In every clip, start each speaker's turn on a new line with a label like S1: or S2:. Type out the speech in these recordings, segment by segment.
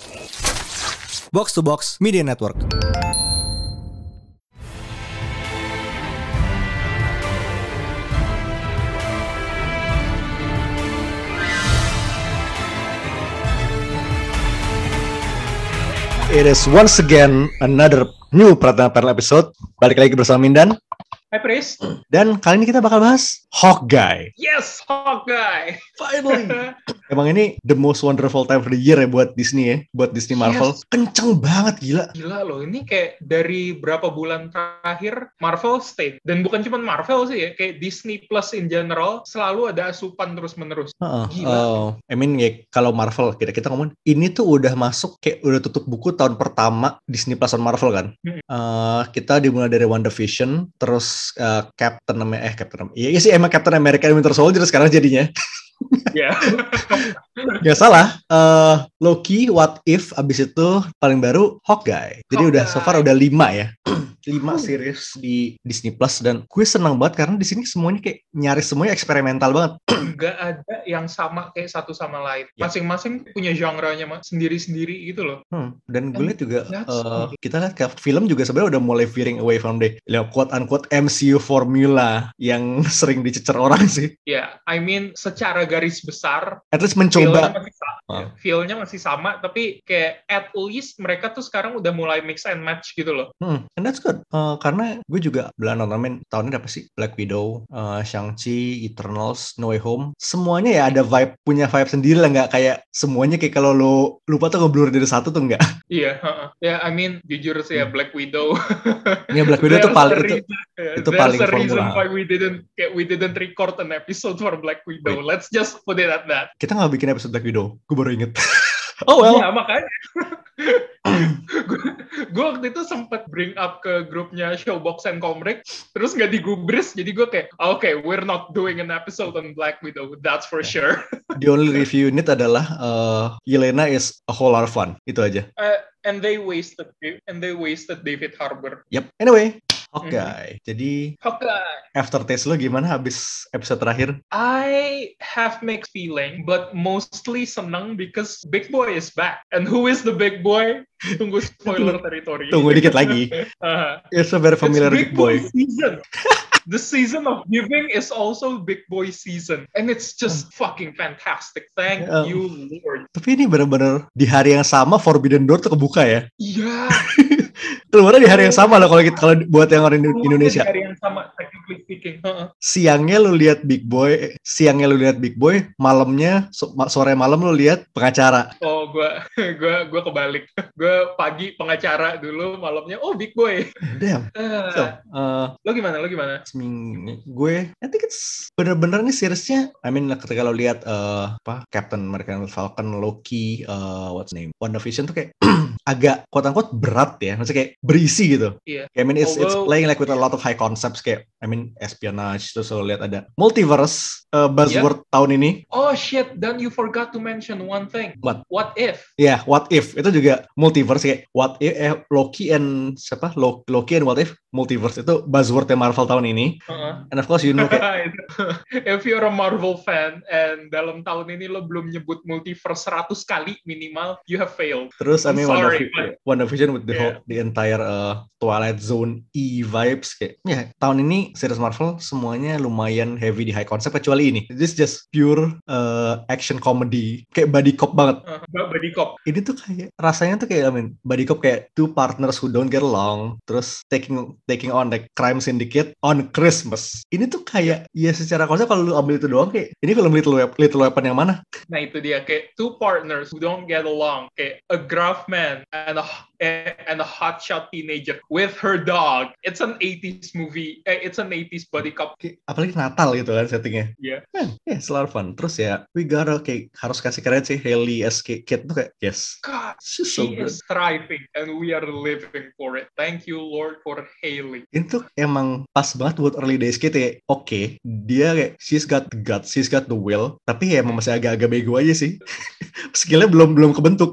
S1: Box to Box Media Network. It is once again another new Pratama Panel episode. Balik lagi bersama Mindan.
S2: Hai Pris.
S1: Dan kali ini kita bakal bahas Hawkeye.
S2: Yes, Hawkeye.
S1: Finally. Emang ini the most wonderful time of the year ya buat Disney ya, buat Disney Marvel.
S2: Yes.
S1: Kenceng banget, gila.
S2: Gila loh, ini kayak dari berapa bulan terakhir Marvel stay. Dan bukan cuma Marvel sih ya, kayak Disney Plus in general selalu ada asupan terus-menerus. Gila.
S1: I mean ya kalau Marvel kita ngomong ini tuh udah masuk kayak udah tutup buku tahun pertama Disney Plus on Marvel kan. Kita dimulai dari WandaVision, terus Captain America. Iya sih emang Captain America and Winter Soldier sekarang jadinya.
S2: Ya.
S1: Gak salah. Loki, What If, abis itu paling baru Hawkeye. Jadi udah so far udah 5 ya. 5 series di Disney Plus dan gue senang banget karena di sini semuanya kayak nyaris semuanya eksperimental banget.
S2: Gak ada yang sama kayak satu sama lain. Masing-masing punya genre-nya sendiri-sendiri gitu loh.
S1: Dan gue lihat juga kita lihat kayak film juga sebenarnya udah mulai veering away from the quote unquote MCU formula yang sering dicecer orang sih.
S2: Ya, I mean secara garis besar
S1: at least mencoba.
S2: Feel-nya masih sama, tapi kayak at least mereka tuh sekarang udah mulai mix and match gitu loh.
S1: And that's good. Karena gue juga belum nonton tahun ini apa sih? Black Widow, Shang-Chi, Eternals, No Way Home. Semuanya ya ada punya vibe sendiri lah, nggak kayak semuanya kayak kalau lo lupa tuh ngeblur dari satu tuh nggak.
S2: Iya, ya I mean jujur sih ya Black Widow.
S1: Ya Black Widow itu paling itu paling
S2: formula. There's a reason why we didn't record an episode for Black Widow. Let's just put it at that.
S1: Kita nggak bikin episode Black Widow. Gue baru inget. Oh well.
S2: Ya makanya. Gue waktu itu sempat bring up ke grupnya Showbox and Comrade, terus nggak digubris, jadi gue kayak, okay, we're not doing an episode on Black Widow, that's for sure.
S1: The only review unit adalah Yelena is a whole lot of fun, itu aja.
S2: And they wasted David Harbour.
S1: Yep. Anyway, Hawkeye. Jadi
S2: Hawkeye.
S1: Aftertaste lo gimana habis episode terakhir?
S2: I have mixed feeling, but mostly senang because Big Boy is back. And who is the Big Boy? Tunggu spoiler territory.
S1: Tunggu dikit lagi. It's a very familiar Big Boy.
S2: Season. The season of giving is also Big Boy season. And it's just fucking fantastic. Thank you, Lord.
S1: Tapi ini benar-benar di hari yang sama Forbidden Door tuh kebuka ya?
S2: Iya.
S1: Keluarnya di hari yang sama loh kalau buat yang orang Indonesia.
S2: Di hari yang sama, technically speaking.
S1: Siangnya lu lihat Big Boy, malamnya sore malam lu lihat pengacara.
S2: Oh, gue kebalik. Gue pagi pengacara dulu, malamnya Big Boy.
S1: Damn.
S2: Lo gimana?
S1: Gue, I think it's bener-bener nih seriesnya. I mean ketika lo lihat Captain America, Falcon, Loki, what's name, WandaVision tuh kayak agak quote-unquote berat ya, maksudnya kayak berisi gitu.
S2: Yeah.
S1: I mean it's playing like with a lot of high concepts kayak espionage, terus lo lihat ada multiverse buzzword tahun ini.
S2: Oh shit, then you forgot to mention one thing. What if?
S1: Yeah, What If itu juga multiverse kayak What If Loki and What If multiverse itu buzzwordnya Marvel tahun ini. And of course you know kayak
S2: if you're a Marvel fan and dalam tahun ini lo belum nyebut multiverse 100 kali minimal, you have failed.
S1: Terus I mean WandaVision with the entire Twilight Zone vibes kayak tahun ini series Marvel semuanya lumayan heavy di high concept kecuali ini. This just pure action comedy kayak buddy cop banget.
S2: Buddy cop.
S1: Ini tuh kayak rasanya tuh kayak buddy cop kayak two partners who don't get along terus taking on like crime syndicate on Christmas. Ini tuh kayak ya secara konsep kalau lu ambil itu doang kayak ini film Little Weapon yang mana?
S2: Nah itu dia kayak two partners who don't get along kayak a gruff man and a hotshot teenager with her dog. It's an 80s movie. It's an 80s buddy cop.
S1: Apalagi Natal gitu kan settingnya.
S2: Yeah.
S1: Yeah, selalu fun. Terus ya, we gotta kayak harus kasih keren sih Hailey as Kate tuh kayak yes.
S2: God, she is thriving and we are living for it. Thank you Lord for Hailey.
S1: Itu emang pas banget buat early days Kate ya. Oke, dia kayak she's got the guts, she's got the will. Tapi ya emang masih agak-agak bego aja sih. Skillnya belum kebentuk.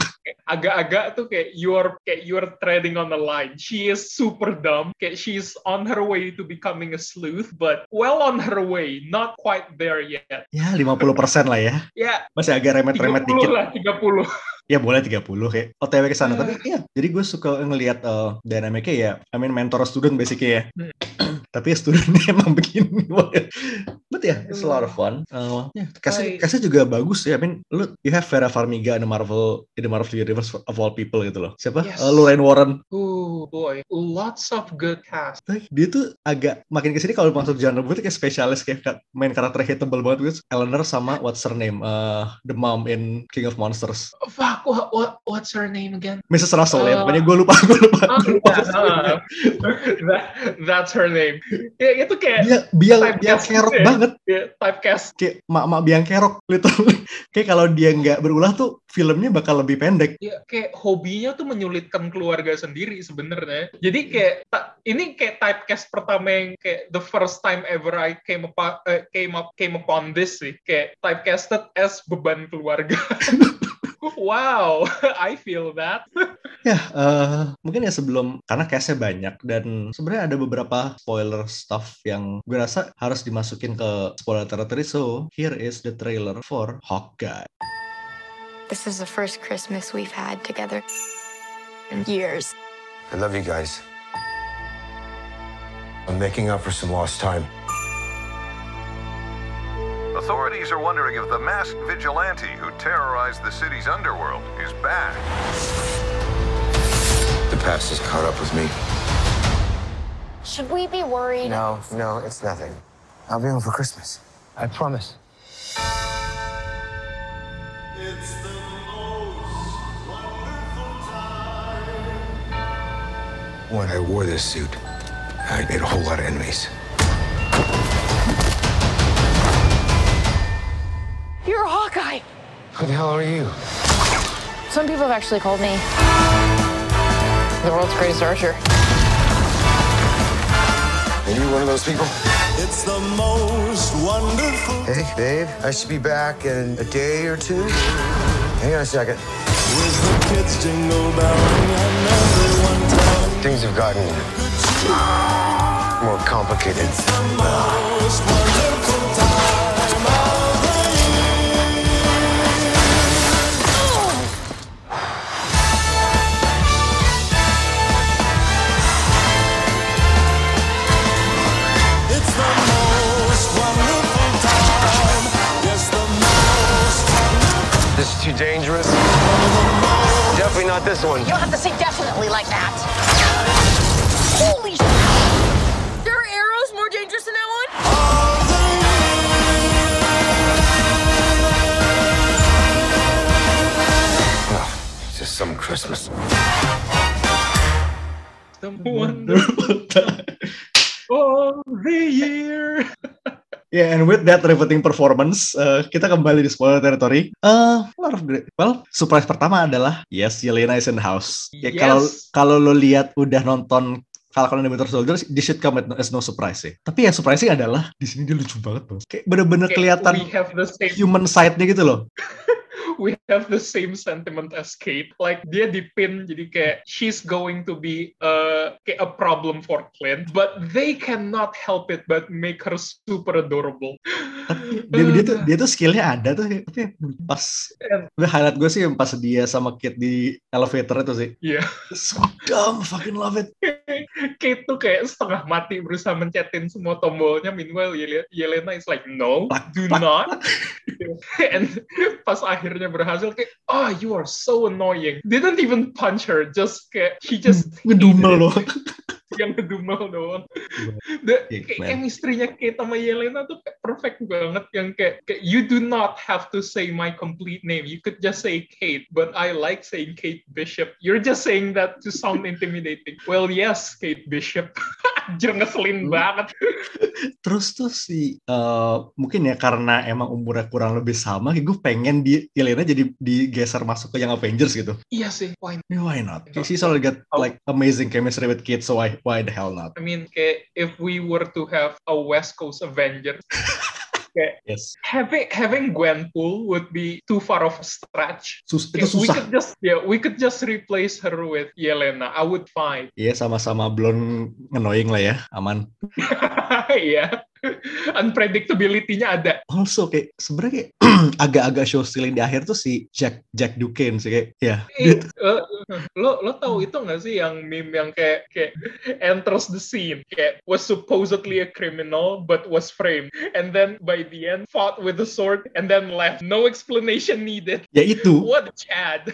S2: agak-agak tuh kayak you're treading on the line. She is super dumb. Kayak she's on her way to becoming a sleuth, but well on her way, not quite there yet.
S1: Ya 50% lah ya.
S2: Ya,
S1: Masih agak remet-remet
S2: 30
S1: dikit.
S2: lah, 30.
S1: Ya boleh 30 kayak OTW ke sana. Tapi iya, jadi gue suka ngelihat dynamicnya ya. I mean mentor student basically ya. Tapi ya studentnya emang begini. But yeah, it's a lot of fun. Cast-nya juga bagus ya. I mean, you have Vera Farmiga in the Marvel Universe of all people gitu loh. Siapa?
S2: Yes.
S1: Lorraine Warren.
S2: Oh boy, lots of good cast.
S1: Dia tuh agak makin kesini kalau masuk genre gue tuh kayak spesialis, kayak main karakter hateable banget gitu. Eleanor sama what's her name? The mom in King of Monsters.
S2: Fuck, what's her name again?
S1: Mrs. Russell ya. Pokoknya gue lupa.
S2: That's her name. Ya itu kayak
S1: dia biang kerok banget.
S2: Typecast.
S1: Kayak mak biang kerok literally. Kayak kalau dia nggak berulah tuh filmnya bakal lebih pendek.
S2: Ya, kayak hobinya tuh menyulitkan keluarga sendiri sebenarnya. Jadi kayak ini kayak typecast pertama yang kayak the first time ever I came upon this sih. Kayak typecasted as beban keluarga. Wow, I feel that.
S1: Ya, mungkin ya sebelum, karena cast-nya banyak dan sebenarnya ada beberapa spoiler stuff yang gue rasa harus dimasukin ke spoiler territory. So, here is the trailer for Hawkeye.
S3: This is the first Christmas we've had together in years.
S4: I love you guys. I'm making up for some lost time.
S5: Authorities are wondering if the masked vigilante who terrorized the city's underworld is back.
S4: The past has caught up with me.
S3: Should we be worried?
S4: No, it's nothing. I'll be home for Christmas. I promise.
S6: It's the most wonderful time.
S4: When I wore this suit, I made a whole lot of enemies.
S3: You're a Hawkeye!
S4: Who the hell are you?
S3: Some people have actually called me the world's greatest archer.
S4: Are you one of those people?
S6: It's the most wonderful.
S4: Hey, babe, I should be back in a day or two. Hang on a second.
S6: With the kids jingle belling and everyone telling.
S4: Things have gotten more complicated.
S6: It's the most wonderful time of the It's the most wonderful time. Yes, the most wonderful.
S4: This is too dangerous. Definitely not this one.
S7: You don't have to say definitely like that. Holy shit! There are arrows more dangerous than that one?
S4: Oh, it's just some Christmas.
S2: The wonderful time of the year.
S1: Yeah, and with that riveting performance, kita kembali di spoiler territory. A lot of great. Well, surprise pertama adalah yes, Yelena is in the house. Ya,
S2: Yes.
S1: kalau lo lihat udah nonton Falcon and the Winter Soldier, this should come as no surprise sih. Tapi yang surprising adalah di sini dia lucu banget, Bang. Kayak bener-bener kelihatan
S2: We have the same
S1: human side-nya gitu loh.
S2: we have the same sentiment as Kate. Like dia dipin jadi kayak she's going to be kayak a problem for Clint, but they cannot help it but make her super adorable.
S1: Tapi dia tuh skillnya ada tuh. Tapi pas highlight gue sih yang pas dia sama Kate di elevator itu sih.
S2: Iya.
S1: So dumb, fucking love it.
S2: Kate tuh kayak setengah mati berusaha mencetin semua tombolnya. Meanwhile Yelena is like no, do not. And pas akhirnya berhasil kayak you are so annoying. Didn't even punch her, just kayak she just
S1: ngedumel loh.
S2: Yang ngedumel doang. Kayak chemistry-nya Kate sama Yelena tuh perfect banget. Yang kayak you do not have to say my complete name. You could just say Kate, but I like saying Kate Bishop. You're just saying that to sound intimidating. Well, yes, Kate Bishop. Anjir, ngeselin banget.
S1: Terus tuh mungkin ya karena emang umurnya kurang lebih sama, gue pengen Yelena jadi digeser masuk ke Young Avengers gitu.
S2: Iya sih, why
S1: not? She's already got like amazing chemistry with Kate, so why the hell not?
S2: I mean, kayak if we were to have a West Coast Avengers, Kayak
S1: Yes.
S2: having Gwenpool would be too far of a stretch.
S1: Itu
S2: Kayak
S1: susah.
S2: we could just replace her with Yelena. I would fine.
S1: Iya, sama-sama blonde annoying lah ya, aman.
S2: Iya. Unpredictability-nya ada.
S1: Also kayak sebenarnya kayak agak-agak show stealing di akhir tuh si Jack Duquesne sih kayak ya.
S2: Lo tahu itu nggak sih yang meme yang kayak enters the scene kayak was supposedly a criminal but was framed and then by the end fought with a sword and then left, no explanation needed.
S1: Ya itu.
S2: What a Chad.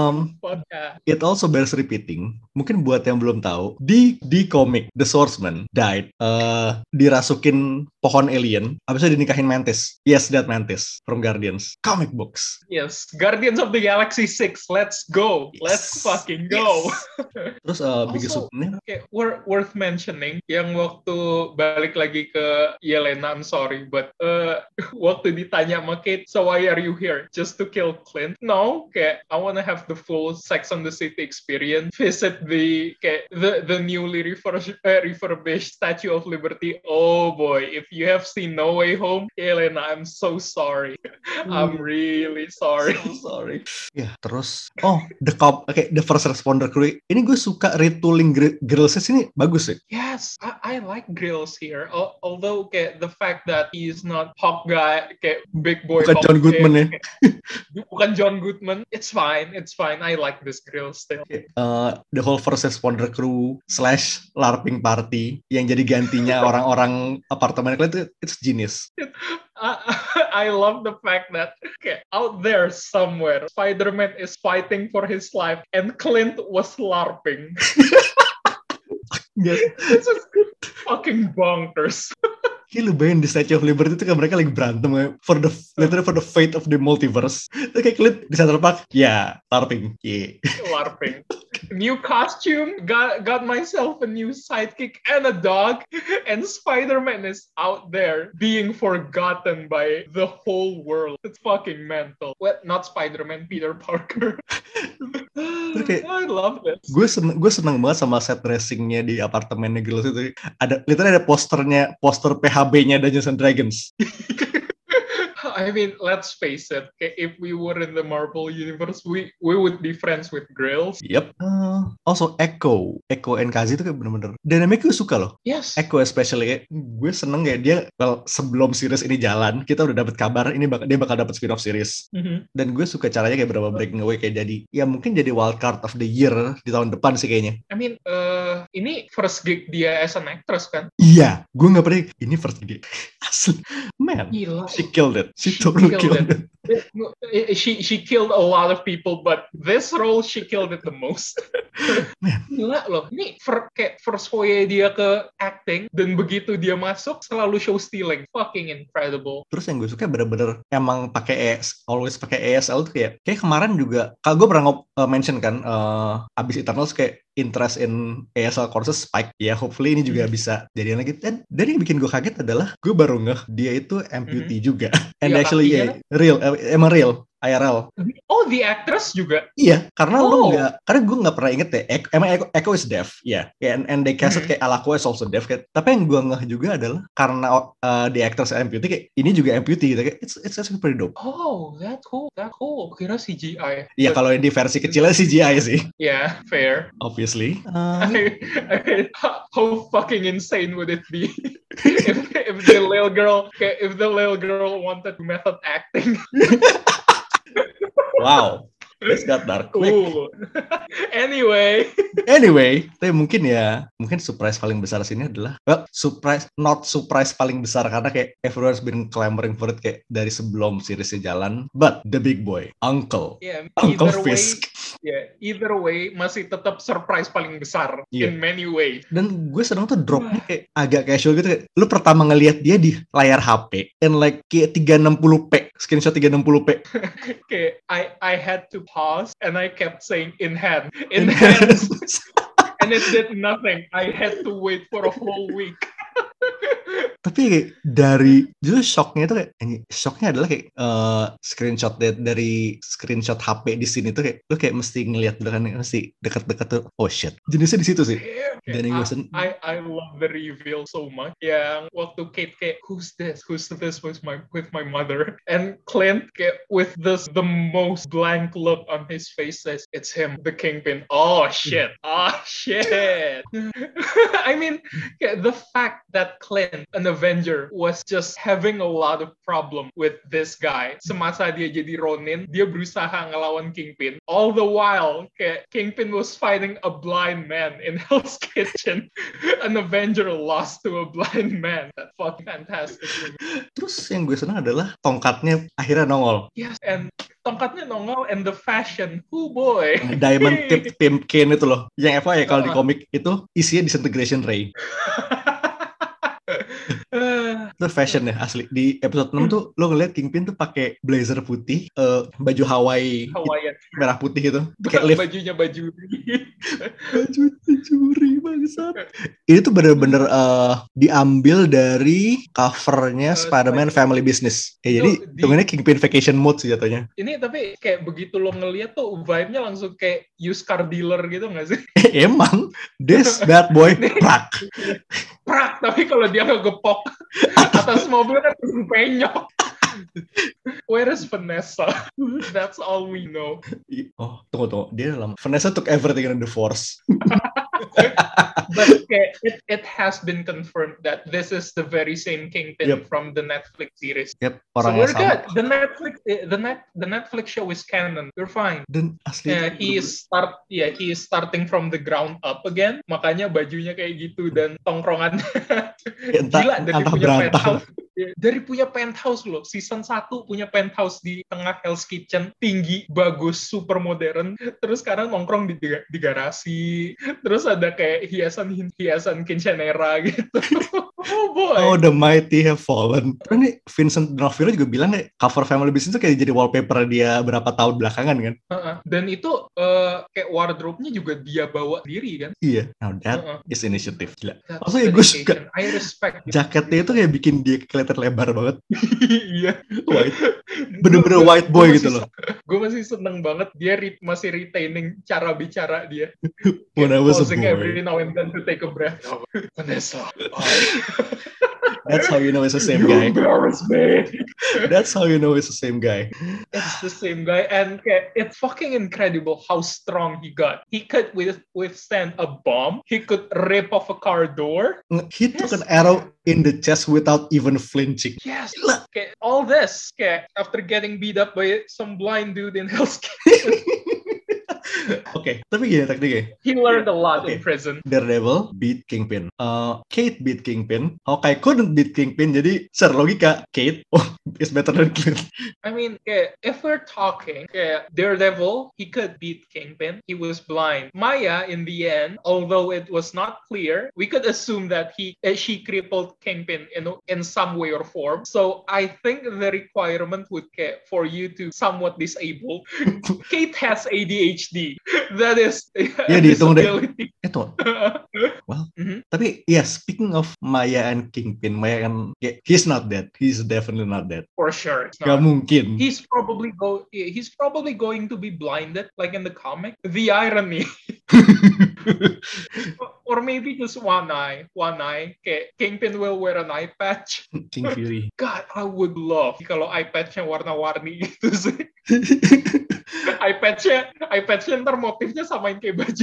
S1: It also bears repeating. Mungkin buat yang belum tahu, di komik The Swordsman died, dirasukin pohon alien, abis itu dinikahin Mantis. Yes, that Mantis from Guardians comic books.
S2: Yes, Guardians of the Galaxy 6. Let's go.
S1: Yes.
S2: Let's fucking go.
S1: Yes. Terus biggest
S2: okay, worth mentioning yang waktu balik lagi ke Yelena, I'm sorry, but waktu ditanya sama Kate, so why are you here? Just to kill Clint? No, kayak I wanna have the full Sex and the City experience. Visit the newly refurbished Statue of Liberty. Oh boy, if you have seen No Way Home, Yelena, I'm so sorry. I'm really sorry.
S1: So sorry. Ya, terus the first responder crew. Ini gue suka retooling Grillsnya sini bagus sih.
S2: Yes, I like Grills here. Although kayak the fact that he is not Hawkeye, kayak big boy.
S1: Bukan John Goodman ya.
S2: Bukan John Goodman. It's fine. I like this Grills still.
S1: The whole first responder crew / LARPing party yang jadi gantinya orang-orang apartemen itu, it's genius.
S2: I love the fact that out there somewhere, Spider-Man is fighting for his life and Clint was LARPing.
S1: Yes.
S2: This is fucking bonkers.
S1: Lu bayangin di Statue of Liberty itu kan mereka lagi berantem literally for the fate of the multiverse. Itu kayak Clint di Central Park, ya, LARPing. Yeah.
S2: LARPing. New costume, got myself a new sidekick and a dog, and Spider-Man is out there being forgotten by the whole world. It's fucking mental. Well, not Spider-Man, Peter Parker.
S1: Okay.
S2: I love this.
S1: Gue seneng banget sama set dressingnya di apartemennya Girls itu. Literally ada poster PHB-nya Dungeons and Dragons.
S2: I mean, let's face it. If we were in the Marvel universe, we would be friends with Grills.
S1: Yep. Also Echo and Kazi itu kayak bener-bener dynamic gue suka loh.
S2: Yes.
S1: Echo especially kayak gue seneng kayak dia sebelum series ini jalan kita udah dapet kabar dia bakal dapet spin-off series. Mm-hmm. Dan gue suka caranya kayak berapa breaking away kayak jadi ya mungkin jadi wild card of the year di tahun depan sih kayaknya.
S2: I mean, ini first gig dia as an actress kan?
S1: Iya, gue nggak pernah ini first gig. Asli, man.
S2: Gila.
S1: She killed it. She totally killed it.
S2: She killed a lot of people, but this role she killed it the most.
S1: Man.
S2: Gila loh, ini kayak first foray dia ke acting dan begitu dia masuk selalu show stealing, fucking incredible.
S1: Terus yang gue suka bener-bener emang always pakai ASL tuh kayak kemarin juga, kalau gue pernah mention kan abis Eternals kayak interest in ASL courses spike ya, hopefully ini juga bisa jadian lagi. Dan yang bikin gue kaget adalah gue baru ngeh dia itu amputee juga. And
S2: ya,
S1: actually emang real IRL.
S2: Oh, the actress juga?
S1: Iya, karena karena gue nggak pernah inget ya, emang Echo is deaf, ya. Yeah. And they cast it kayak Alako is also deaf. Kayak. Tapi yang gue ngeh juga adalah karena the actress amputee, kayak ini juga amputee gitu. Kayak it's actually pretty dope.
S2: Oh, that's cool. Kira CGI.
S1: Iya, kalau di versi kecilnya CGI sih.
S2: Yeah, fair.
S1: Obviously.
S2: How fucking insane would it be if the little girl wanted method acting?
S1: Wow, this got dark quick.
S2: Anyway,
S1: tapi mungkin surprise paling besar sini adalah not surprise paling besar karena kayak everyone's been clamoring for it kayak dari sebelum seriesnya jalan, but the big boy, Uncle Fisk.
S2: Either way masih tetap surprise paling besar in many ways.
S1: Dan gue seneng tuh dropnya kayak agak casual gitu kayak lu pertama ngelihat dia di layar HP and like kayak 360p, screenshot 360p.
S2: Okay, I had to pause and I kept saying in hand. And it did nothing. I had to wait for a whole week.
S1: Tapi dari justru shocknya itu kayak shocknya adalah kayak screenshot dari screenshot HP di sini tuh kayak lu kayak mesti ngelihat dulu kan, mesti dekat-dekat tuh, oh shit, jenisnya di situ sih. Dan
S2: I love the reveal so much. Yang waktu Kate kayak who's this with my mother, and Clint kayak with the most blank look on his face says it's him, the Kingpin. Oh shit. I mean, the fact that Clint, an Avenger, was just having a lot of problem with this guy. Semasa dia jadi Ronin, dia berusaha ngelawan Kingpin. All the while, kayak Kingpin was fighting a blind man in Hell's Kitchen. An Avenger lost to a blind man. That's fucking fantastic.
S1: Terus yang gue senang adalah tongkatnya akhirnya nongol.
S2: Yes, and tongkatnya nongol and the fashion, boy.
S1: Diamond tip Tim Kane itu loh. Yang apa ya kalau di komik itu isinya disintegration ray. Itu fashion ya asli. Di episode 6 tuh lo ngeliat Kingpin tuh pakai blazer putih, baju Hawaii merah putih gitu. Kayak
S2: bajunya baju
S1: curi bangsat. Ini tuh bener-bener diambil dari covernya Spider-Man Family Business. Jadi ini Kingpin Vacation Mode sih jatuhnya.
S2: Ini tapi kayak begitu lo ngeliat tuh vibe-nya langsung kayak used car dealer gitu nggak sih?
S1: Emang this bad boy
S2: prak, tapi kalau dia ngegepok atas mobil kan penyok. Where is Vanessa? That's all we know.
S1: Oh, tunggu. Dia dalam Vanessa took everything in the Force.
S2: But it has been confirmed that this is the very same Kingpin from the Netflix series.
S1: Yep,
S2: so we're good. The Netflix show is canon. We're fine.
S1: Dan asli
S2: he is starting from the ground up again. Makanya bajunya kayak gitu dan tongkrongannya gila dari punya penthouse. Dari punya penthouse loh. Season 1 punya penthouse di tengah Hell's Kitchen, tinggi, bagus, super modern. Terus sekarang nongkrong di garasi. Terus ada kayak hiasan quinceanera gitu. Oh boy.
S1: Oh, the mighty have fallen. Ini Vincent D'Onofrio juga bilang kayak cover Family Business itu kayak jadi wallpaper dia berapa tahun belakangan kan.
S2: Dan itu kayak wardrobe-nya juga dia bawa sendiri kan.
S1: Iya. Now that is initiative. Gila. Maksudnya gue suka.
S2: I respect.
S1: Jaketnya itu kayak bikin dia kelihatan lebar banget.
S2: Iya.
S1: White. Bener-bener white boy gitu loh.
S2: Gue masih seneng banget dia masih retaining cara bicara dia.
S1: When I was a boy.
S2: Every now and then to take a breath. Vanessa.
S1: That's how you know it's the same guy.
S2: Embarrass me.
S1: That's how you know it's the same guy.
S2: It's the same guy, and it's fucking incredible how strong he got. He could withstand a bomb. He could rip off a car door.
S1: He took an arrow in the chest without even flinching.
S2: Yes. Okay, all this after getting beat up by some blind dude in Hell's Kitchen.
S1: Oke, tapi gini tekniknya.
S2: He learned a lot in prison.
S1: Daredevil beat Kingpin. Kate beat Kingpin. Hawkeye couldn't beat Kingpin. Jadi secara logika Kate is better than Clint.
S2: I mean, if we're talking Daredevil, he could beat Kingpin. He was blind. Maya, in the end, although it was not clear, we could assume that she crippled Kingpin in some way or form. So I think the requirement would for you to somewhat disable. Kate has ADHD. That is disability.
S1: Itu. Well, tapi speaking of Maya and Kingpin, Maya kan he's not dead. He's definitely not dead.
S2: For sure.
S1: Gak mungkin.
S2: He's probably going to be blinded like in the comic. The irony. Or maybe just one eye. Kingpin will wear an eye patch.
S1: King Fury.
S2: God, I would love kalau eye patchnya warna-warni gitu sih. eye patchnya ntar motifnya samain kayak baju.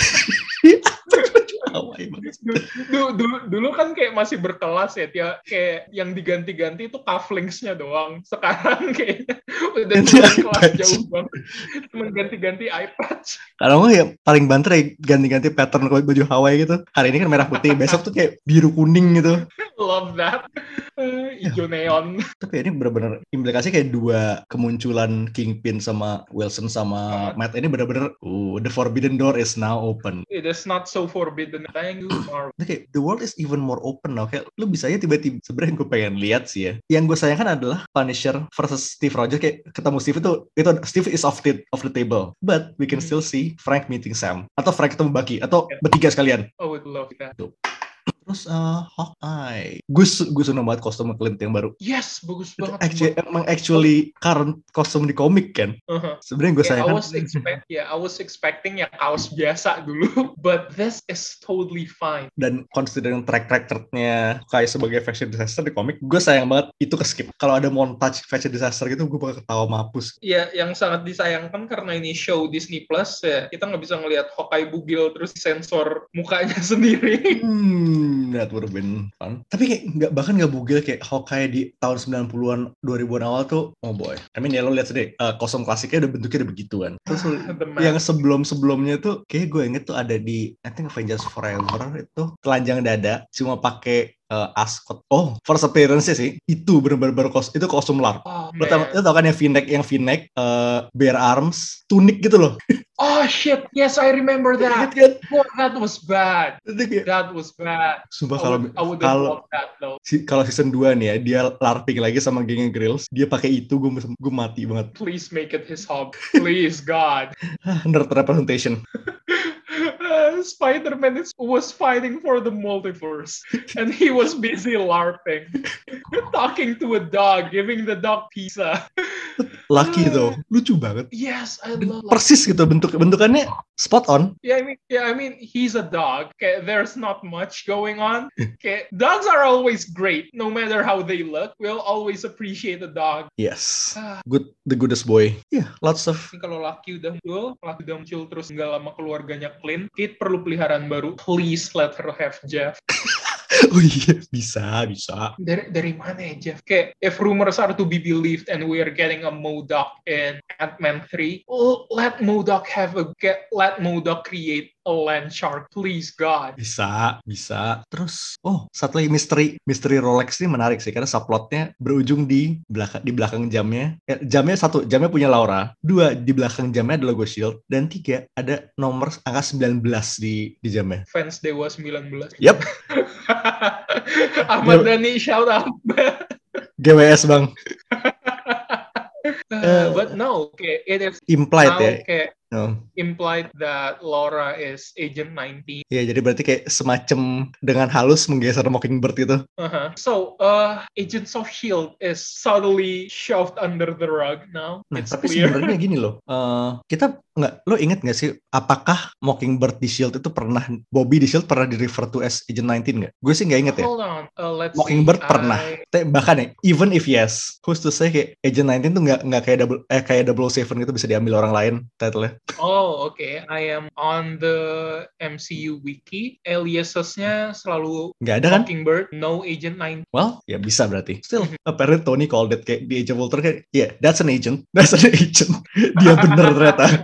S2: Dulu kan kayak masih berkelas ya, kayak yang diganti-ganti itu cufflinks-nya doang. Sekarang kayaknya udah kelas jauh banget. Cuma ganti-ganti eye patch.
S1: Kalau nggak ya paling banter ya ganti-ganti pattern baju Hawaii gitu. Hari ini kan merah putih, besok tuh kayak biru kuning gitu.
S2: Love that. Hijau neon.
S1: Tapi ini benar-benar implikasi kayak dua kemunculan Kingpin sama Wilson sama Matt ini benar-benar the forbidden door is now open.
S2: It is not so forbidden. Thank you, Marvel.
S1: Okay, the world is even more open now. Kayak lu bisa aja tiba-tiba sebenarnya yang gue pengen lihat sih ya. Yang gue sayangkan adalah Punisher versus Steve Rogers, kayak ketemu Steve itu Steve is off the table. But we can still see Frank meeting Sam atau Frank ketemu Bucky atau bertiga sekalian.
S2: I would love that.
S1: Terus Hawkeye. Gue seneng banget kostum Clint yang baru.
S2: Yes, bagus banget.
S1: Actually current kostum di komik kan. Sebenarnya gue sayangkan.
S2: I was expecting ya kaos biasa dulu, but this is totally fine.
S1: Dan considering track recordnya kayak sebagai fashion disaster di komik, gue sayang banget itu ke skip. Kalau ada montage fashion disaster gitu, gue bakal ketawa mampus.
S2: Ya, yang sangat disayangkan karena ini show Disney Plus ya, kita nggak bisa ngelihat Hawkeye bugil terus sensor mukanya sendiri.
S1: That would have been fun. Tapi kayak bahkan nggak bugil kayak Hawkeye di tahun 90-an, 2000-an awal tuh, oh boy. I mean ya lo lihat sendiri, kostum klasiknya udah bentuknya udah begituan. Terus yang sebelumnya tuh, kayak gue inget tuh ada di, I think Avengers Forever itu telanjang dada, cuma pakai ascot. Oh, first appearance sih. Itu bener-bener itu kostum LARP. Lo tau kan yang V-neck, bare arms, tunic gitu loh.
S2: Oh shit, yes I remember that. Oh, that was bad. That was bad.
S1: Sumpah kalau season 2 nih ya, dia LARPing lagi sama gengnya Grills, dia pakai itu, gue mati banget.
S2: Please make it his hobby. Please God.
S1: Nerd representation.
S2: Spider-Man was fighting for the multiverse and he was busy LARPing, talking to a dog, giving the dog pizza.
S1: Lucky though, lucu banget.
S2: Yes, I love.
S1: Persis gitu bentukannya spot on.
S2: Yeah, I mean, he's a dog. Okay, there's not much going on. Okay, dogs are always great, no matter how they look. We'll always appreciate a dog.
S1: Yes, the goodest boy. Yeah, lots of.
S2: Kalau Lucky udah muncul terus nggak lama keluarganya Clint, Kate perlu peliharaan baru. Please let her have Jeff.
S1: Oh iya, bisa.
S2: Dari mana ya, Jeff? Kayak, if rumors are to be believed and we are getting a MODOK in Ant-Man 3, let MODOK create a land shark, please God.
S1: Bisa. Terus, satu lagi misteri Rolex ini menarik sih, karena subplotnya berujung di belakang jamnya. Jamnya punya Laura. 2, di belakang jamnya ada logo Shield. Dan 3, ada nomor angka 19 di jamnya.
S2: Fans Dewa 19.
S1: Yep.
S2: Ahmad Dhani, shout out.
S1: GWS bang.
S2: But no, it is
S1: implied
S2: now,
S1: ya.
S2: Implied that Laura is Agent 19.
S1: Ya, jadi berarti kayak semacam dengan halus menggeser Mockingbird gitu.
S2: So, Agents of S.H.I.E.L.D. is subtly shoved under the rug now.
S1: Nah, tapi sebenarnya gini loh, lo inget nggak sih, apakah Mockingbird di S.H.I.E.L.D. itu Bobby di S.H.I.E.L.D. pernah di refer to as Agent 19 nggak? Gue sih nggak inget ya.
S2: Hold on,
S1: Mockingbird pernah. Bahkan ya, even if yes, who's to say kayak Agent 19 tuh nggak kayak 007 gitu bisa diambil orang lain title-nya.
S2: Oh, okay. I am on the MCU wiki. Aliasesnya selalu
S1: nggak ada kan?
S2: Mockingbird, no Agent 19.
S1: Well, ya bisa berarti. Still, apparently Tony called it kayak di Age of Ultron kayak, yeah, that's an agent. Dia bener ternyata.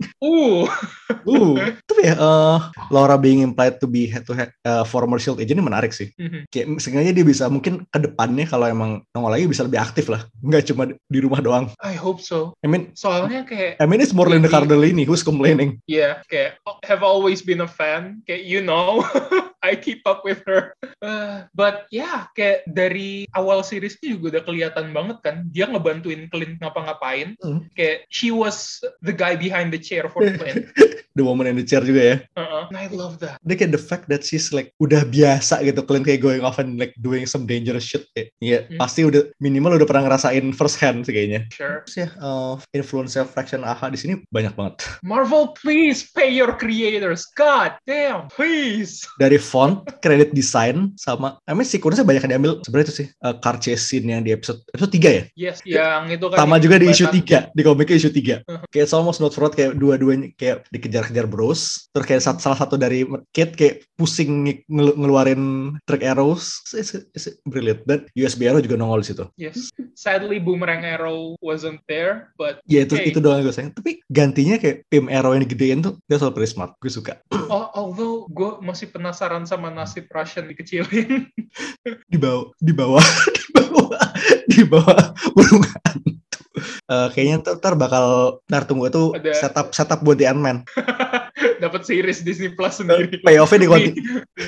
S1: Tapi ya, Laura being implied to be former S.H.I.E.L.D. agent ini menarik sih. Kayak sengaja dia bisa mungkin ke depannya kalau emang nongol lagi bisa lebih aktif lah. Nggak cuma di rumah doang.
S2: I hope so.
S1: I mean,
S2: soalnya kayak
S1: it's more Linda Cardellini who's complaining.
S2: Yeah, kayak have always been a fan. Kayak I keep up with her. But yeah, kayak dari awal seriesnya juga udah kelihatan banget kan. Dia ngebantuin Clint ngapa-ngapain. Kayak she was the guy behind the chair for Clint.
S1: The woman in the chair juga ya.
S2: And I love that.
S1: Dia kayak the fact that she's like udah biasa gitu Clint kayak going off and like doing some dangerous shit kayak. Iya, pasti udah minimal udah pernah ngerasain first hand sih kayaknya.
S2: Sure.
S1: Terus ya, influence Fraction AHA di sini banyak banget.
S2: Marvel, please pay your creators. God damn, please.
S1: Dari font, credit design, sama sequence-nya banyak yang diambil. Sebenarnya itu sih car chase scene yang di episode 3 ya?
S2: Yes, yang itu kan.
S1: Sama juga di issue 3, di komiknya issue 3. Kayak it's almost not fraud, kayak dua-duanya kayak dikejar-kejar bros. Terus kayak salah satu dari Kate kayak pusing ngeluarin trick arrows. It's brilliant. Dan USB arrow juga nongol di situ.
S2: Yes. Sadly Boomerang Arrow wasn't there, but
S1: ya itu doang gue sayang. Tapi gantinya kayak Pim Arrow yang digedein tuh dia selalu pretty smart. Gue suka.
S2: Although gue masih penasaran sama nasib Russian dikecilin.
S1: di bawah burung hantu. Kayaknya ntar tunggu itu setup buat The Ant-Man.
S2: dapat series Disney Plus sendiri.
S1: Payoff-nya di konti.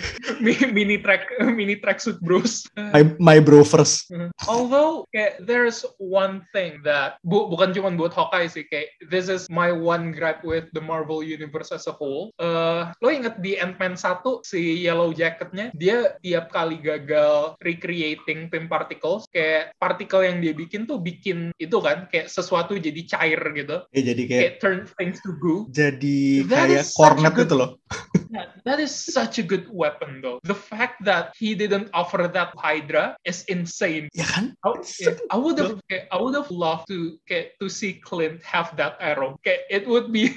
S2: Mini tracksuit bros.
S1: My bro first.
S2: Although kayak there's one thing that bukan cuma buat Hawkeye sih, kayak this is my one gripe with the Marvel Universe as a whole. Lo inget di Ant-Man 1 si Yellow Jacketnya, dia tiap kali gagal recreating Pym Particles, kayak partikel yang dia bikin tuh bikin itu kan kayak sesuatu jadi cair gitu.
S1: Jadi kayak
S2: turn things to goo.
S1: Jadi kayak cornet gitu loh.
S2: That is such a good weapon though. The fact that he didn't offer that Hydra is insane.
S1: Ya kan?
S2: I would have loved to see Clint have that arrow. It would be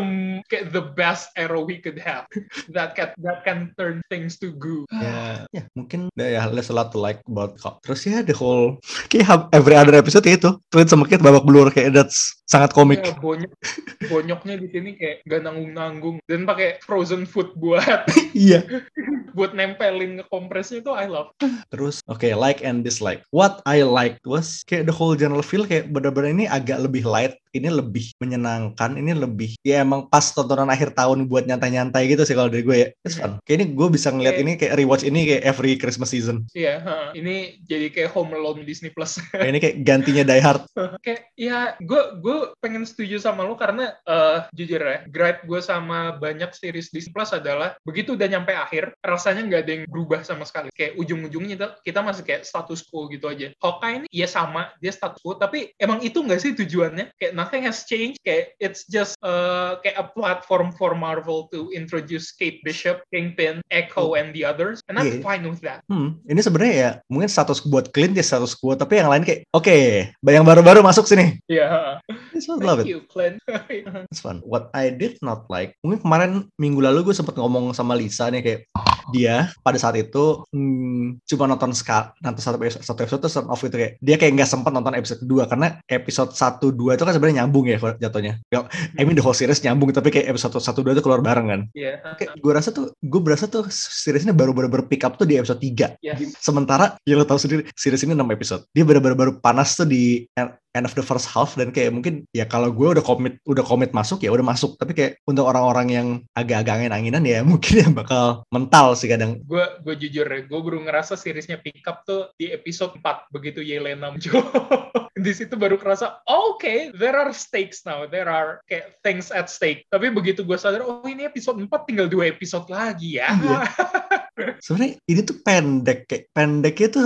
S2: the best arrow he could have. That can turn things to goo.
S1: Ya mungkin ya there's a lot to like about Cop. Terus ya the whole kayak every other episode itu Clint sama Kate babak belur, kayak that's sangat komik.
S2: Ya, bonyoknya di sini kayak gak nanggung-nanggung dan pakai frozen food buat
S1: iya.
S2: buat nempelin ke kompresnya itu I love.
S1: Terus like and dislike. What I liked was kayak the whole general feel kayak bener-bener ini agak lebih light, ini lebih menyenangkan, ini lebih ya emang pas tontonan akhir tahun buat nyantai-nyantai gitu sih kalau dari gue ya. It's fun. Kayak ini gue bisa ngeliat ini kayak rewatch ini kayak every Christmas season.
S2: Iya, ini jadi kayak Home Alone Disney Plus.
S1: Ini kayak gantinya Die Hard.
S2: Kayak ya gue pengen setuju sama lo karena jujur ya, gripe gue sama banyak series Disney Plus adalah begitu udah nyampe akhir rasanya nggak ada yang berubah sama sekali. Kayak ujung-ujungnya kita masih kayak status quo gitu aja. Hawkeye ini ya sama, dia status quo, tapi emang itu nggak sih tujuannya? Kayak nothing has changed. Kayak it's just kayak a platform for Marvel to introduce Kate Bishop, Kingpin, Echo, and the others, and I'm fine with that.
S1: Ini sebenarnya ya mungkin status buat Clint ya status quo, tapi yang lain kayak oke, yang baru-baru masuk sini.
S2: Iya.
S1: Thank
S2: you, Clint.
S1: It's fun. What I did not like, mungkin kemarin minggu lalu gue sempat ngomong sama Lisa nih kayak dia pada saat itu cuma nonton satu episode terus turn off gitu, kayak dia kayak nggak sempat nonton episode 2 karena episode 1-2 itu kan sebenarnya nyambung ya jatuhnya. I mean the whole series nyambung, tapi kayak episode 1-2 itu keluar bareng kan. Kayak gue berasa tuh seriesnya baru pick up tuh di episode 3. Sementara ya lo tahu sendiri series ini 6 episode. Dia baru panas tuh di end of the first half, dan kayak mungkin ya kalau gue udah komit masuk ya udah masuk, tapi kayak untuk orang-orang yang agak-agak angin-anginan ya mungkin ya bakal mental sih kadang.
S2: Gue jujur ya, gue baru ngerasa seriesnya pick up tuh di episode 4 begitu Yelena muncul. Di situ baru kerasa okay, there are stakes now, there are kayak things at stake. Tapi begitu gue sadar ini episode 4 tinggal 2 episode lagi ya.
S1: Iya. Sebenarnya ini tuh pendeknya tuh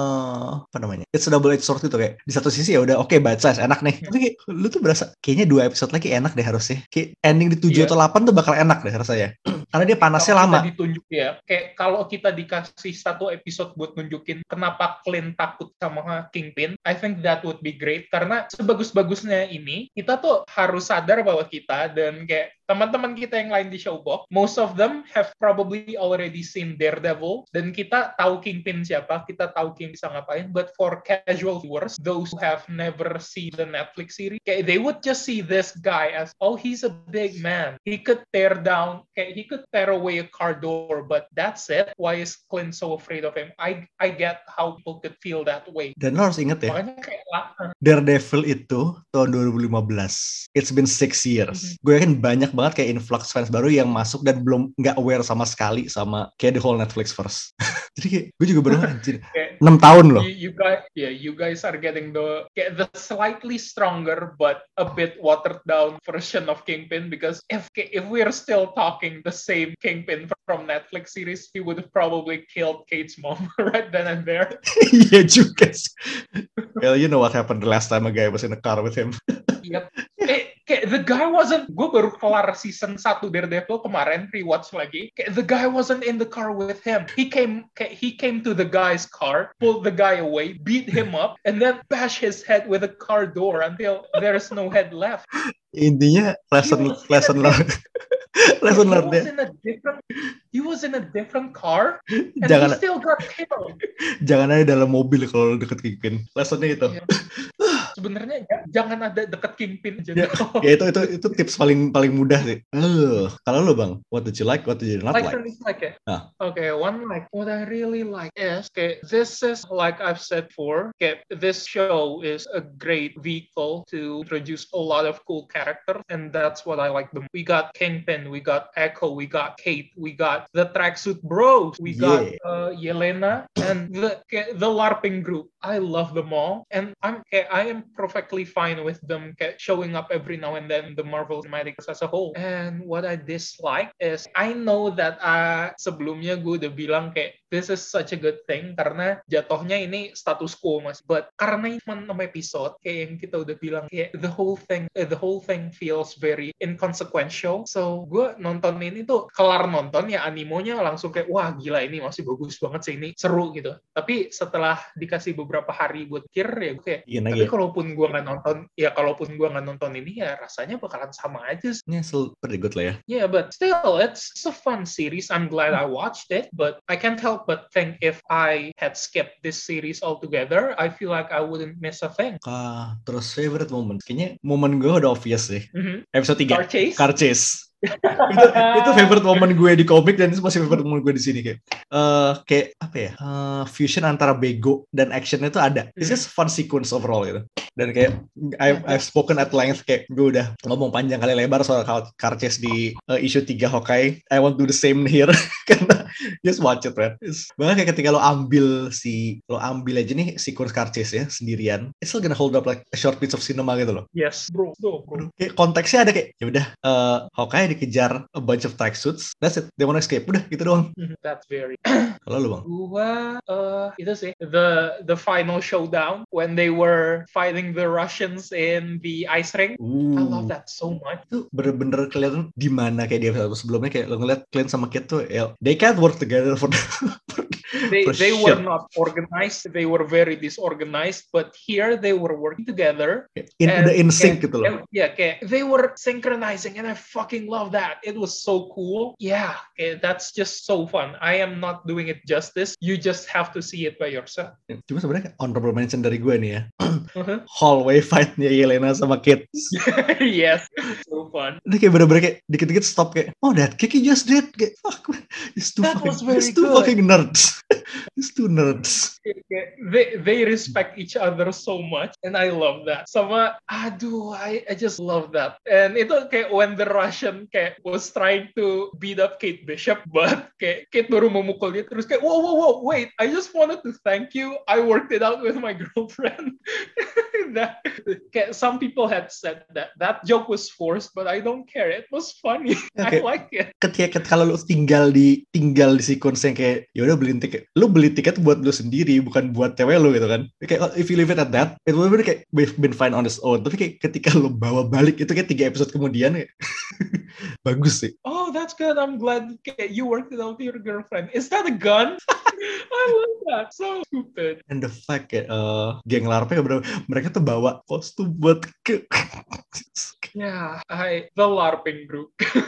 S1: apa namanya? It's a double edged sword gitu, kayak di satu sisi ya udah oke, bite size enak nih. Tapi kayak, lu tuh berasa kayaknya 2 episode lagi enak deh harusnya. Kayak ending di 7 atau 8 tuh bakal enak deh rasanya. Karena dia panasnya lama.
S2: Ditunjuk ya. Kayak kalau kita dikasih 1 episode buat nunjukin kenapa Clint takut sama Kingpin, I think that would be great. Karena sebagus-bagusnya ini, kita tuh harus sadar bahwa kita dan kayak teman-teman kita yang lain di Showbox, most of them have probably already seen Daredevil, dan kita tahu Kingpin siapa, kita tahu King bisa ngapain, but for casual viewers, those who have never seen the Netflix series, they would just see this guy as, he's a big man. He could tear away a car door, but that's it. Why is Clint so afraid of him? I get how people could feel that way.
S1: Dan lo harus inget ya,
S2: makanya kayak
S1: Daredevil itu tahun 2015. It's been 6 years. Gue yakin banyak banget kayak influx fans baru yang masuk dan belum nggak aware sama sekali sama kayak the whole Netflix verse. Jadi kayak gue juga baru anjir 6 tahun loh.
S2: You guys are getting the slightly stronger but a bit watered down version of Kingpin, because if we are still talking the same Kingpin from Netflix series, he would have probably killed Kate's mom right then and there.
S1: Iya juga sih. Well, you know what happened the last time a guy was in a car with him.
S2: Yep. The guy wasn't. Gue baru kelar season 1 Daredevil kemarin, rewatch lagi. The guy wasn't in the car with him. He came to the guy's car, pulled the guy away, beat him up, and then bash his head with a car door until there is no head left.
S1: Intinya lesson learned.
S2: He was in a different car, and
S1: he
S2: still got killed.
S1: Jangan ada dalam mobil kalau deket Kingpin. Lessonnya itu.
S2: Yeah. Sebenarnya jangan ada deket Kingpin aja.
S1: Ya itu tips paling mudah sih. Kalau lo Bang, what did you like, what did you not like?
S2: Ya? Okay, one like what I really like is this is like I've said before. This show is a great vehicle to introduce a lot of cool characters, and that's what I like the most. We got Kingpin, we got Echo, we got Kate, we got the Tracksuit Bros, we got Yelena, and the LARPing group. I love them all, and I am perfectly fine with them showing up every now and then in the Marvel Cinematics as a whole. And what I dislike is I know that sebelumnya gue udah bilang this is such a good thing karena jatuhnya ini status quo mas, but karena cuma 6 episode yang kita udah bilang the whole thing feels very inconsequential. So gue nonton ini tuh kelar nonton ya animonya langsung wah gila ini masih bagus banget sih, ini seru gitu. Tapi setelah dikasih beberapa hari buat pikir ya gue tapi kalaupun gue nggak nonton ini ya rasanya bakalan sama aja.
S1: Still pretty good lah ya.
S2: Yeah, but still it's a fun series. I'm glad I watched it, but I can't help but think if I had skipped this series altogether, I feel like I wouldn't miss a thing.
S1: Terus favorite moment, kayaknya momen gue udah obvious sih. Episode 3 Car Chase. itu favorite moment gue di komik dan itu masih favorite moment gue di sini kayak apa ya, fusion antara bego dan actionnya itu ada. It's just fun sequence overall gitu. Dan kayak I've spoken at length, kayak gue udah ngomong panjang kali lebar soal Car Chase di issue 3 Hawkeye. I want to do the same here karena just watch it, man. Bahkan kayak ketika lo ambil aja nih sequence Car Chase ya sendirian, it's still gonna hold up like a short piece of cinema gitu loh.
S2: Yes, bro.
S1: Kayak konteksnya ada kayak ya udah Hawkeye dikejar a bunch of tracksuits, that's it, they wanna escape, udah gitu doang.
S2: That's very.
S1: Kalau lu Bang?
S2: Gua itu sih the final showdown when they were fighting the Russians in the ice ring. I love that so much.
S1: Itu bener-bener kelihatan di mana kayak di episode sebelumnya kayak lo ngeliat Clint sama Kate tuh they can't work together for
S2: they were not organized, they were very disorganized, but here they were working together
S1: in sync gitu loh.
S2: They were synchronizing and I fucking love that. It was so cool. That's just so fun. I am not doing it justice. You just have to see it by yourself.
S1: Cuma sebenarnya honorable mention dari gue nih ya. Hallway fight-nya Yelena sama Kate.
S2: Yes, so fun.
S1: Ini kayak bener-bener kayak dikit-dikit stop kayak that kick he just did, kayak fuck, it's too fucking nerds. It's two nerds.
S2: They respect each other so much, and I love that. Sama, I just love that. And itu kayak when the Russian kayak was trying to beat up Kate Bishop, but kayak Kate baru memukul dia terus kayak whoa, wait, I just wanted to thank you. I worked it out with my girlfriend. Some people had said that joke was forced, but I don't care. It was funny. I like it.
S1: Ketika kalau lu tinggal di sequence yang kayak yaudah lu beli tiket buat lu sendiri, bukan buat cewek lu gitu kan. Kayak if you leave it at that, it would be kayak we've been fine on its own. Tapi kayak ketika lu bawa balik itu kayak 3 episode kemudian kayak bagus sih.
S2: Oh, that's good. I'm glad you worked it out with your girlfriend. Is that a gun? I love that. So stupid.
S1: And the fact kayak geng LARP mereka tuh bawa kostum buat
S2: the LARPing group.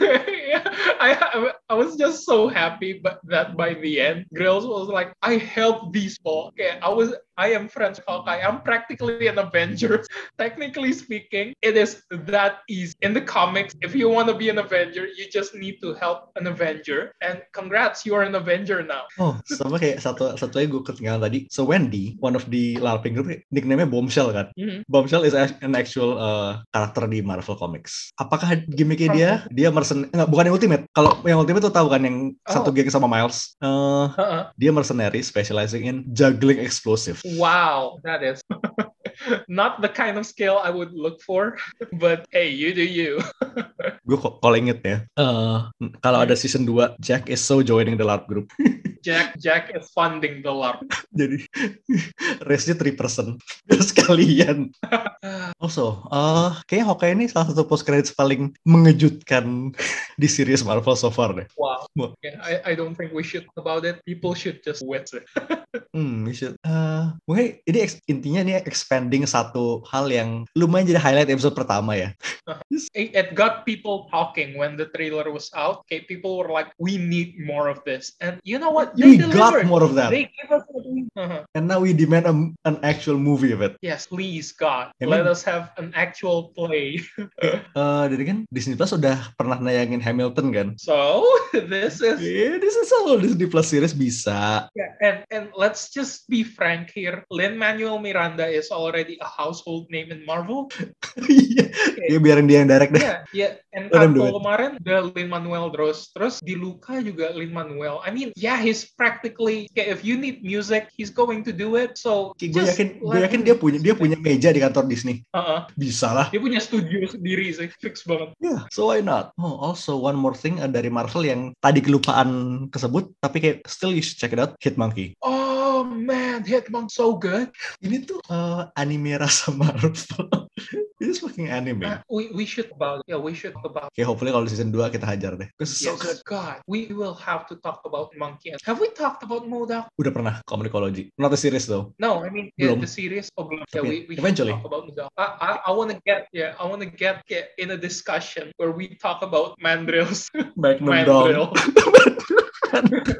S2: I was just so happy that by the end, Grills was like, I helped these people. I am friends with Hawkeye. I'm practically an Avenger. Technically speaking, it is that easy. In the comics, if you want to be an Avenger, you just need to help an Avenger. And congrats, you are an Avenger now.
S1: Oh, sama kayak satu lagi gue ketinggalan tadi. So Wendy, one of the LARPing group, nickname-nya Bombshell kan? Mm-hmm. Bombshell is an actual karakter di Marvel Comics. Apakah gimmicknya dia bukan yang Ultimate. Kalau yang Ultimate tuh tahu kan yang satu geng sama Miles. Dia mercenary specializing in juggling explosive.
S2: Wow, that is not the kind of skill I would look for, but hey, you do you.
S1: Gue calling it ya. Kalau ada season 2, Jack is so joining the LARP group.
S2: Jack is funding the LARP.
S1: Jadi race-nya 3% sekalian. Also, kayaknya Hawkeye ini salah satu post credits paling mengejutkan di series Marvel so far deh.
S2: Wow. I don't think we should about it. People should just wait it.
S1: We should. Mungkin ini intinya ini expanding satu hal yang lumayan jadi highlight episode pertama ya.
S2: It got people talking when the trailer was out. Okay, people were like, "We need more of this," and you know what?
S1: We
S2: They
S1: got
S2: delivered.
S1: more of that.
S2: They gave us what we.
S1: And now we demand an actual movie of it.
S2: Yes, please, God,
S1: I
S2: let
S1: mean-
S2: us have an actual play.
S1: Jadi kan Disney Plus udah pernah nayangin Hamilton kan?
S2: So this is.
S1: This is all Disney Plus series bisa.
S2: Yeah, and let's just be frank here. Lin-Manuel Miranda is already a household name in Marvel.
S1: Iya, ya biarin dia yang direct deh.
S2: Yeah. And
S1: Let him do
S2: Kanto kemarin udah Lin-Manuel terus di Luca juga Lin-Manuel. I mean, yeah, he's practically if you need music, he's going to do it. So
S1: Gue yakin dia punya meja di kantor Disney. Bisa lah.
S2: Dia punya studio sendiri sih, fix banget.
S1: Yeah, so why not? Oh, also one more thing dari Marvel yang tadi kelupaan kesebut, tapi kayak still you should check it out, Hitmonkey.
S2: Oh man, Hitmonkey so good.
S1: Ini tuh anime rasa Marvel. Ini fucking anime.
S2: We should about it. Yeah, we should talk about.
S1: Okay, hopefully kalau di season 2 kita hajar deh. Because so good.
S2: God, we will have to talk about Monkey. Have we talked about MODOK?
S1: Udah pernah Comicology. Not a series though.
S2: No, I mean
S1: Belum.
S2: the series. Oh, belum. Yeah,
S1: Tapi
S2: we
S1: eventually.
S2: should talk about MODOK. I want to get in a discussion where we talk about mandrills.
S1: Magnum
S2: Mandrill.
S1: Dong.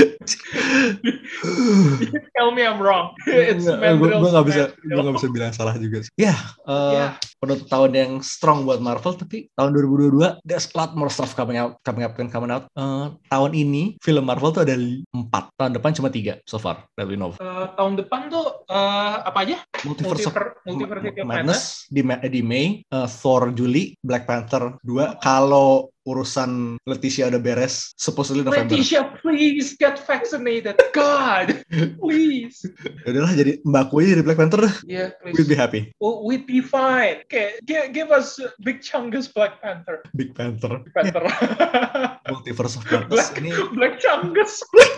S2: Tell me I'm wrong. It's mandrills.
S1: Gue nggak
S2: mandrill.
S1: bisa bilang salah juga sih. Ya, penutup tahun yang strong buat Marvel, tapi tahun 2022 there's a lot more stuff coming out. Tahun ini film Marvel tuh ada 4, tahun depan cuma 3 so far that we know.
S2: Tahun depan tuh apa aja?
S1: Multiverse of
S2: Multiverse of
S1: Madness di Mei, Thor Juli, Black Panther 2. Kalau urusan Leticia udah beres, supposedly November.
S2: Leticia, please get vaccinated. God, please.
S1: Udahlah jadi mbakku aja jadi Black Panther.
S2: Yeah, please.
S1: We'll be happy.
S2: We'd be fine. Okay, give us Big Chungus Black Panther.
S1: Big Panther.
S2: Panther.
S1: Multiverse of Madness ini.
S2: Black Chungus.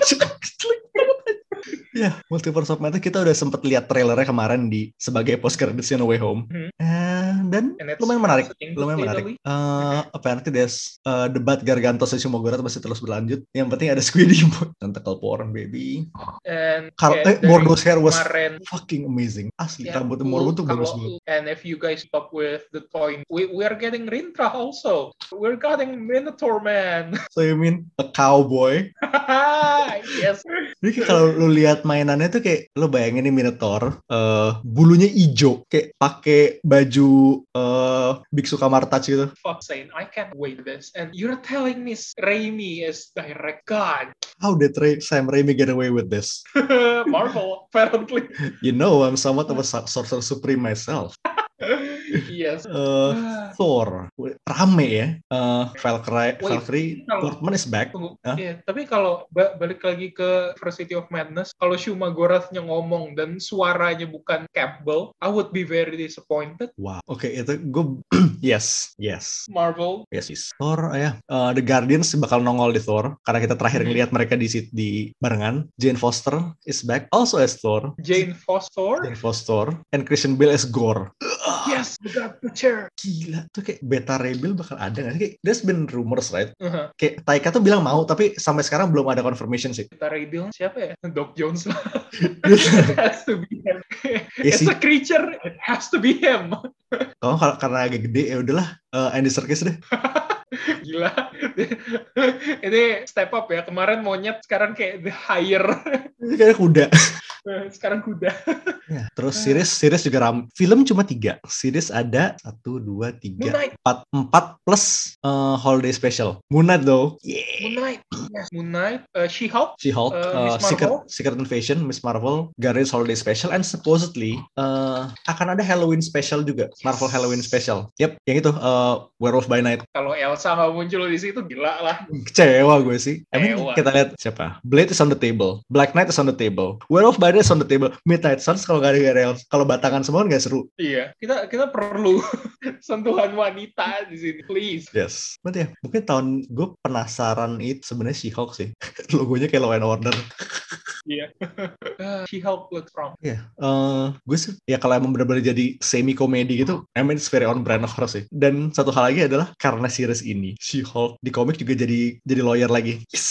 S1: Ya, Multiverse of Madness kita udah sempet lihat trailernya kemarin sebagai post credits No Way Home. Dan lumayan menarik. Apparently there's debat Gargantos dan Shimogura masih terus berlanjut. Yang penting ada Squiddy tentacle porn baby.
S2: And
S1: Morgo's hair was fucking amazing. Asli rambut Morgo tuh bagus banget.
S2: And if you guys stop with the toy, we are getting Rintra also. We're getting Minotaur Man.
S1: So you mean a cowboy?
S2: Yes.
S1: Jadi kalau lu lihat mainannya tuh kayak lu bayangin nih Minotaur, bulunya hijau, kayak pakai baju biksu kamar touch gitu.
S2: Fuck saying, I can't wait this. And you're telling me Raimi is direct. God.
S1: How did Sam Raimi get away with this?
S2: Marvel, apparently.
S1: You know, I'm somewhat of a sorcerer supreme myself.
S2: Yes.
S1: Thor rame ya. Valkyrie Portman is back.
S2: Yeah, tapi kalau balik lagi ke Varsity of Madness, kalau Shumagorath-nya ngomong dan suaranya bukan Campbell, I would be very disappointed.
S1: Wow. Oke, itu gue yes.
S2: Marvel.
S1: Yes. Thor The Guardians bakal nongol di Thor karena kita terakhir ngelihat mereka di barengan. Jane Foster is back also as Thor.
S2: Jane Foster
S1: And Christian Bale as Gore.
S2: Yes, we got the chair.
S1: Gila, tuh kayak Beta Ray Bill bakal ada nggak sih? Kayak there's been rumors, right? Kayak Taika tuh bilang mau, tapi sampai sekarang belum ada confirmation sih.
S2: Beta Ray Bill siapa ya? Doc Jones lah. It has to be him. It's a creature, it has to be him.
S1: Karena agak gede ya udahlah Andy Serkis deh.
S2: Gila. Ini step up ya. Kemarin monyet, sekarang kayak the higher.
S1: Ini kayak kuda.
S2: Sekarang kuda.
S1: Ya, terus series juga film cuma 3. Series ada 1, 2, 3, 4 plus holiday special. Moon Knight though. Yeah.
S2: Moon Knight. She-Hulk.
S1: Secret Invasion, Miss Marvel, Guardians Holiday Special, and supposedly akan ada Halloween special juga. Marvel Halloween special. Yep, yang itu Werewolf by Night.
S2: Kalau Elsa nggak muncul di situ gila lah.
S1: Kecewa gue sih. Kita lihat siapa. Blade is on the table. Black Knight is on the table. Werewolf by Night is on the table. Midnight Suns kalau nggak ada Elsa, kalau batangan semua nggak seru.
S2: Iya, kita perlu sentuhan wanita di sini, please.
S1: Yes. Berarti ya, mungkin tahun gue penasaran itu sebenarnya She-Hulk sih. Logonya kayak Law and Order.
S2: Iya. She-Hulk looks strong.
S1: Iya. Gue sih ya kalau emang benar-benar jadi semi komedi gitu, I mean it's very on brand of her sih. Dan satu hal lagi adalah karena series ini, She-Hulk di komik juga jadi lawyer lagi. Yes.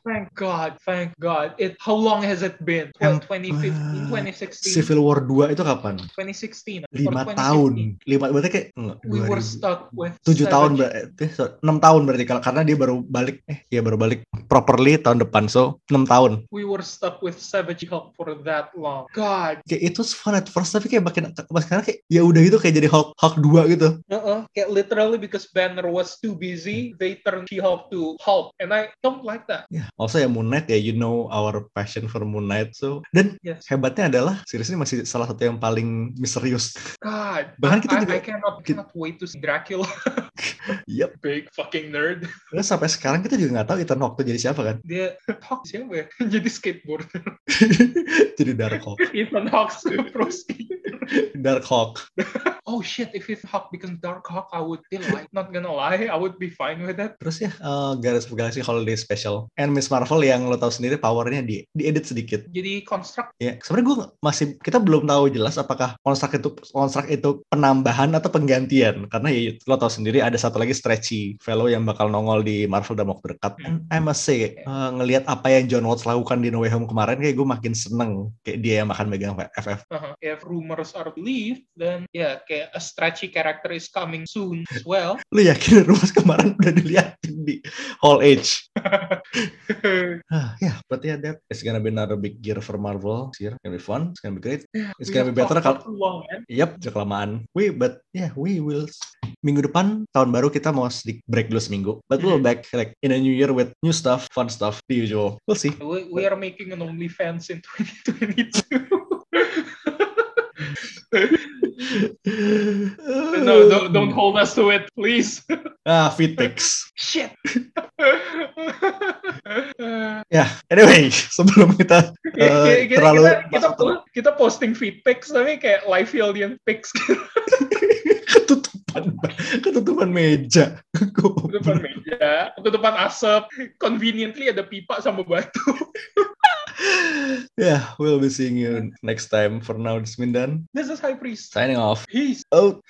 S2: Thank God. How long has it been? What, 2015, 2016?
S1: Civil War 2 itu kapan?
S2: 2016.
S1: 5 tahun. 5 berarti kayak
S2: We were stuck with
S1: 7 tahun
S2: Savage.
S1: berarti 6 tahun berarti karena dia baru balik baru balik properly tahun depan, so 6 tahun.
S2: We were stuck with Savage Hulk for that long. God.
S1: Kayak itu fun at first tapi kayak makin sekarang kayak ya udah gitu kayak jadi Hulk 2 gitu.
S2: Kayak literally because Banner was too busy, they turned She-Hulk to Hulk, and I don't like that.
S1: Yeah. Also ya Moon Knight ya, you know our passion for Moon Knight, so dan hebatnya adalah series ini masih salah satu yang paling misterius.
S2: God,
S1: bahkan kita juga
S2: I cannot wait to see Dracula.
S1: Yep.
S2: Big fucking nerd.
S1: Terus sampai sekarang kita juga nggak tahu Ethan Hawke tuh jadi siapa kan?
S2: Dia Hawke siapa ya? Jadi skateboarder.
S1: Jadi Dark Hawk.
S2: Ethan Hawke pro skater.
S1: Dark Hawk.
S2: Oh shit, if Ethan Hawke becomes Dark Hawk, I would be like, not gonna lie, I would be fine with that.
S1: Terus ya Guardians of the Galaxy Holiday Special and Miss Marvel yang lo tahu sendiri powernya diedit sedikit.
S2: Jadi construct.
S1: Ya, sebenarnya kita belum tahu jelas apakah construct itu penambahan atau penggantian, karena ya lo tahu sendiri ada satu lagi stretchy fellow yang bakal nongol di Marvel dalam waktu dekat. And I must say ngelihat apa yang John Watts lakukan di No Way Home kemarin kayak gue makin seneng kayak dia yang makan megang FF.
S2: If rumors are believed, then kayak a stretchy character is coming soon as well.
S1: Lu yakin rumors kemarin udah dilihatin di Hall H? Yeah, but yeah, that is gonna be another big year for Marvel. It's gonna be fun. It's gonna be great. It's gonna be better kalau. Yep, kelamaan. We will. Minggu depan tahun baru kita mau sedikit break dulu seminggu. But we'll back like in a new year with new stuff, fun stuff, the usual. We'll see.
S2: We are making an OnlyFans in 2022. No, don't hold us to it, please.
S1: Feed pics.
S2: Shit.
S1: Anyway, sebelum kita terlalu
S2: kita posting feed pics tapi kayak live alien pics.
S1: ketutupan meja.
S2: Ketutupan asap. Conveniently ada pipa sama batu.
S1: We'll be seeing you next time. For now, this is Mindan.
S2: This is High Priest.
S1: Signing off.
S2: Peace.
S1: Out.